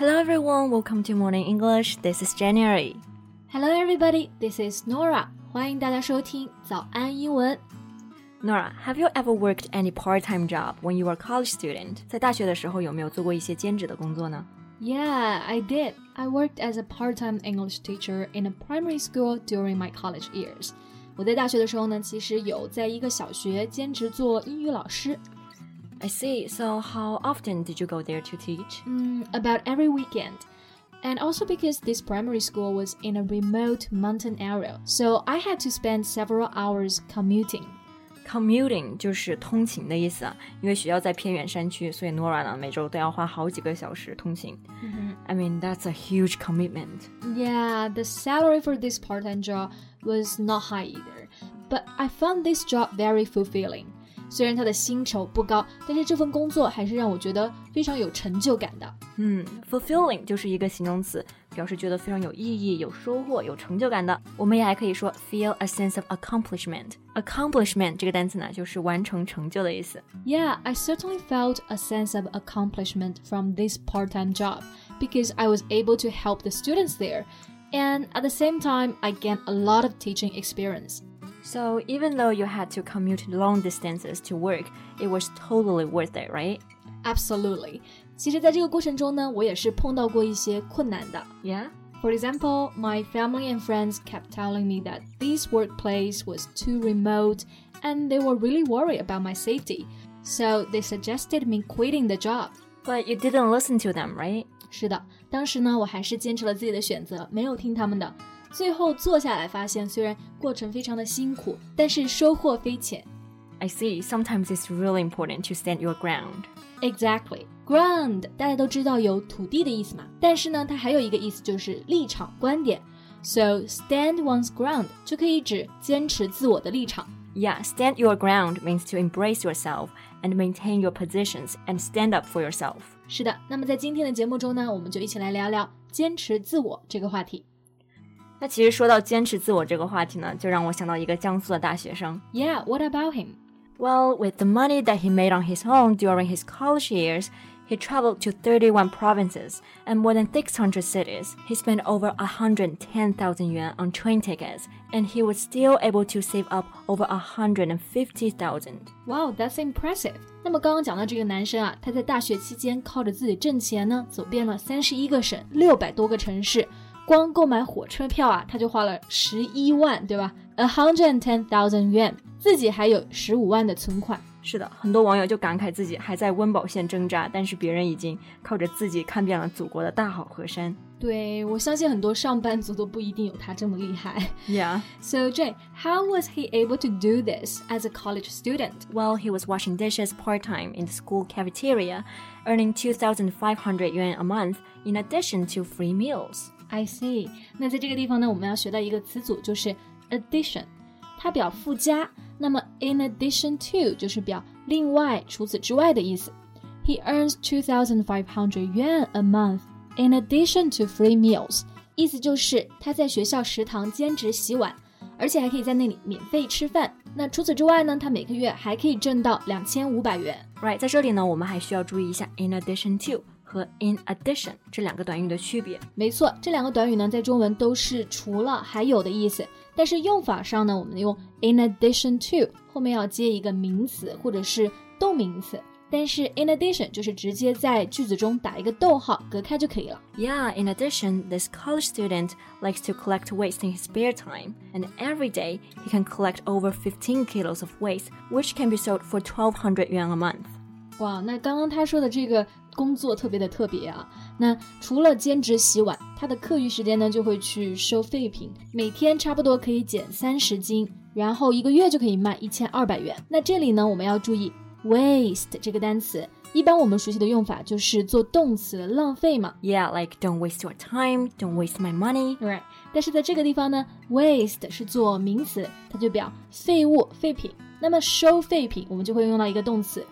Hello everyone, welcome to Morning English. This is January. Hello everybody, this is Nora. 欢迎大家收听早安英文。 Nora, have you ever worked any part-time job when you were a college student? 在大学的时候有没有做过一些兼职的工作呢？ Yeah, I did. I worked as a part-time English teacher in a primary school during my college years. 我在大学的时候呢，其实有在一个小学兼职做英语老师。 I see. So how often did you go there to teach? About every weekend. And also because this primary school was in a remote mountain area, so I had to spend several hours commuting.Commuting 就是通勤的意思啊，因为学校在偏远山区，所以 Nora 呢每周都要花好几个小时通勤。I mean, that's a huge commitment. Yeah, the salary for this part-time job was not high either, but I found this job very fulfilling. 虽然它的薪酬不高，但是这份工作还是让我觉得非常有成就感的。 fulfilling 就是一个形容词，表示觉得非常有意义、有收获、有成就感的。我们也还可以说 feel a sense of accomplishment. Accomplishment 这个单词呢，就是完成成就的意思。 Yeah, I certainly felt a sense of accomplishment from this part-time job because I was able to help the students there, and at the same time, I gained a lot of teaching experience.So even though you had to commute long distances to work, it was totally worth it, right? Absolutely. 其实在这个过程中呢，我也是碰到过一些困难的。 Yeah? For example, my family and friends kept telling me that this workplace was too remote and they were really worried about my safety. So they suggested me quitting the job. But you didn't listen to them, right? 是的，当时呢，我还是坚持了自己的选择，没有听他们的。最后做下来发现，虽然过程非常的辛苦，但是收获非浅。 I see. Sometimes it's really important to stand your ground. Exactly. Ground 大家都知道有土地的意思嘛，但是呢，它还有一个意思就是立场、观点。So stand one's ground 就可以指坚持自我的立场。 Yeah, stand your ground means to embrace yourself and maintain your positions and stand up for yourself. 是的，那么在今天的节目中呢，我们就一起来聊聊坚持自我这个话题。 那其实说到坚持自我这个话题呢，就让我想到一个江苏的大学生。 Yeah, what about him? Well, with the money that he made on his own during his college years, he traveled to 31 provinces and more than 600 cities. He spent over 110,000 yuan on train tickets, and he was still able to save up over 150,000. Wow, that's impressive. 那么刚刚讲到这个男生啊，他在大学期间靠着自己挣钱呢，走遍了31个省，600多个城市。光购买火车票啊，他就花了11万，对吧 ？110,000 yuan， 自己还有15万的存款。 是的，很多网友就感慨自己还在温饱线挣扎，但是别人已经靠着自己看遍了祖国的大好河山。 对，我相信很多上班族都不一定有他这么厉害。 Yeah. So Jane, how was he able to do this as a college student? Well, he was washing dishes part-time in the school cafeteria, earning 2,500 yuan a month in addition to free meals.I see. 那在这个地方呢，我们要学到一个词组，就是 addition， 它表附加。那么 in addition to 就是表另外、除此之外的意思。He earns 2,500 yuan a month in addition to free meals. 意思就是他在学校食堂兼职洗碗，而且还可以在那里免费吃饭。那除此之外呢，他每个月还可以挣到2500元。 Right， 在这里呢，我们还需要注意一下 in addition to。和 in addition 这两个短语的区别。 没错，这两个短语呢，在中文都是除了还有的意思，但是用法上呢，我们用 in addition to 后面要接一个名词或者是动名词，但是 in addition 就是直接在句子中打一个逗号隔开就可以了。 Yeah, in addition, this college student likes to collect waste in his spare time, and every day he can collect over 15 kilos of waste, which can be sold for 1,200 yuan a month. 哇，那刚刚他说的这个工作特别啊。那除了兼职洗碗，他的课余时间呢就会去收废品，每天差不多可以捡30斤，然后1个月就可以卖1200元。那这里呢，我们要注意 waste 这个单词，一般我们熟悉的用法就是做动词浪费嘛。 Yeah, like don't waste your time, don't waste my money. Right. 但是在这个地方呢 waste 是做名词，它就表废物、废品。那么收废品，我们就会用到一个动词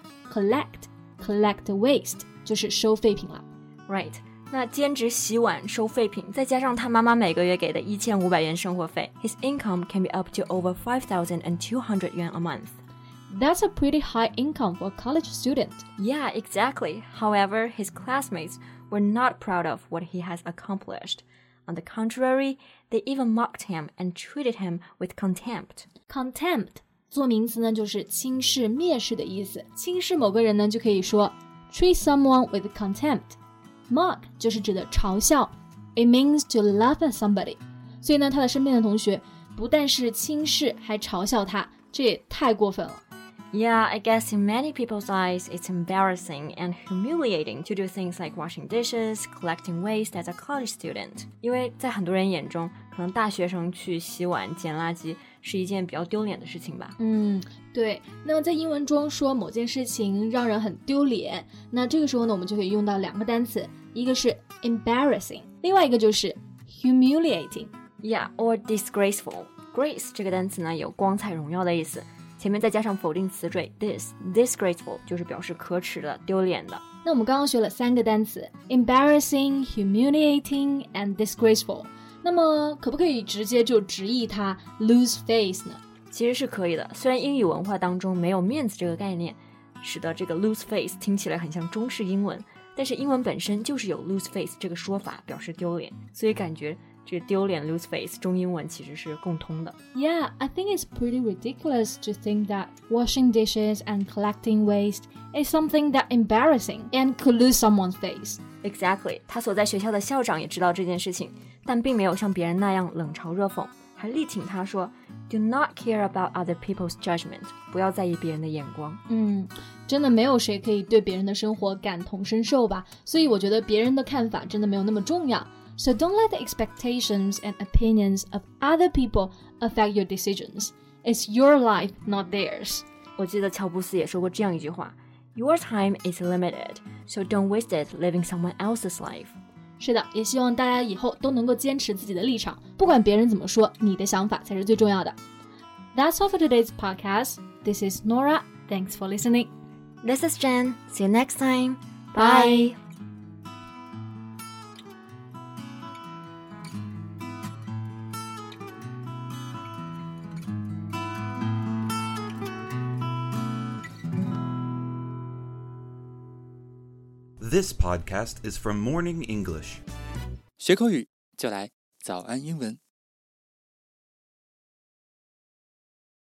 collect waste， 就是收废品了。 Right. 那兼职洗碗收废品，再加上他妈妈每个月给的1500元生活费 ，his income can be up to over 5,200 yuan a month. That's a pretty high income for a college student. Yeah, exactly. However, his classmates were not proud of what he has accomplished. On the contrary, they even mocked him and treated him with contempt. Contempt 做名词呢，就是轻视、蔑视的意思。轻视某个人呢，就可以说 treat someone with contempt. Mock 就是指的嘲笑 It means to laugh at somebody. 所以呢，他的身边的同学不但是轻视，还嘲笑他，这也太过分了。 Yeah, I guess in many people's eyes, it's embarrassing and humiliating to do things like washing dishes, collecting waste as a college student. 因为在很多人眼中，可能大学生去洗碗、捡垃圾是一件比较丢脸的事情吧。 对。那么在英文中说某件事情让人很丢脸，那这个时候呢，我们就可以用到两个单词，一个是 embarrassing， 另外一个就是 humiliating。Yeah, or disgraceful. Grace 这个单词呢，有光彩荣耀的意思。前面再加上否定词缀 disgraceful 就是表示可耻的、丢脸的。 那我们刚刚学了3个单词 embarrassing, humiliating and disgraceful。那么可不可以直接就直译它 lose face 呢？ 其实是可以的，虽然英语文化当中没有面子这个概念，使得这个 lose face 听起来很像中式英文，但是英文本身就是有 lose face 这个说法表示丢脸，所以感觉这个丢脸 lose face 中英文其实是共通的。 Yeah, I think it's pretty ridiculous to think that washing dishes and collecting waste is something that embarrassing and could lose someone's face. Exactly. 他所在学校的校长也知道这件事情，但并没有像别人那样冷嘲热讽，还力挺他说 Do not care about other people's judgment. 不要在意别人的眼光。 真的没有谁可以对别人的生活感同身受吧，所以我觉得别人的看法真的没有那么重要。So don't let the expectations and opinions of other people affect your decisions. It's your life, not theirs. 我记得乔布斯也说过这样一句话 Your time is limited, so don't waste it living someone else's life. 是的，也希望大家以後都能夠堅持自己的立場，不管別人怎麼說，你的想法才是最重要的。That's all for today's podcast. This is Nora. Thanks for listening. This is Jen. See you next time. Bye. This podcast is from Morning English. 学口语就来早安英文。